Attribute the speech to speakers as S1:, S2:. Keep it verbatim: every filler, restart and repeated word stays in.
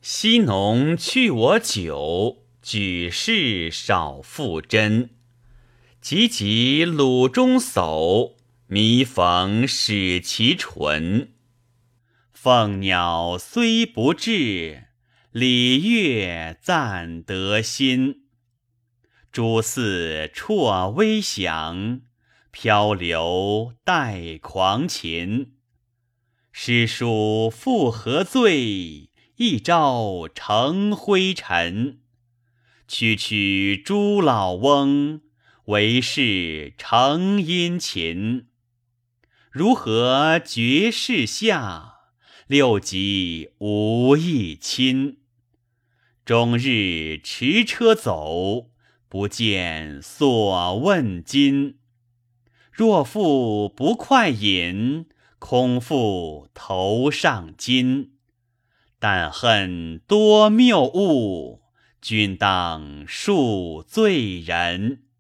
S1: 昔农去我酒，举世少负真。急急鲁中叟，弥缝始其唇。凤鸟虽不至，礼乐赞得心。诸寺辍微响，漂流带狂禽。诗书复何罪？一朝成灰尘。区区诸老翁，为是成殷勤。如何绝世下？六极无一亲。终日驰车走，不见所问津。若复不快饮，空负头上巾。但恨多谬误，君当恕罪人。